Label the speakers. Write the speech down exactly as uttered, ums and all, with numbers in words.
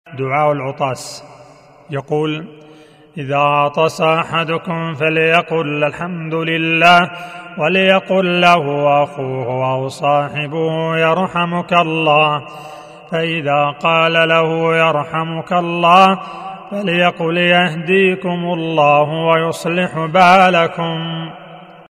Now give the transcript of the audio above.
Speaker 1: دعاء العطاس. يقول: إذا عطس أحدكم فليقل الحمد لله، وليقل له أخوه أو صاحبه يرحمك الله، فإذا قال له يرحمك الله فليقل يهديكم الله ويصلح بالكم.